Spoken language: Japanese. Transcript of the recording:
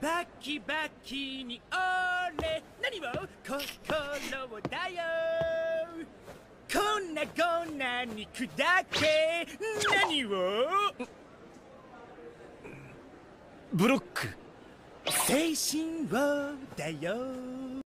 バキバキに俺何を心をだよこんな肉だけ何をブロック。 精神をだよ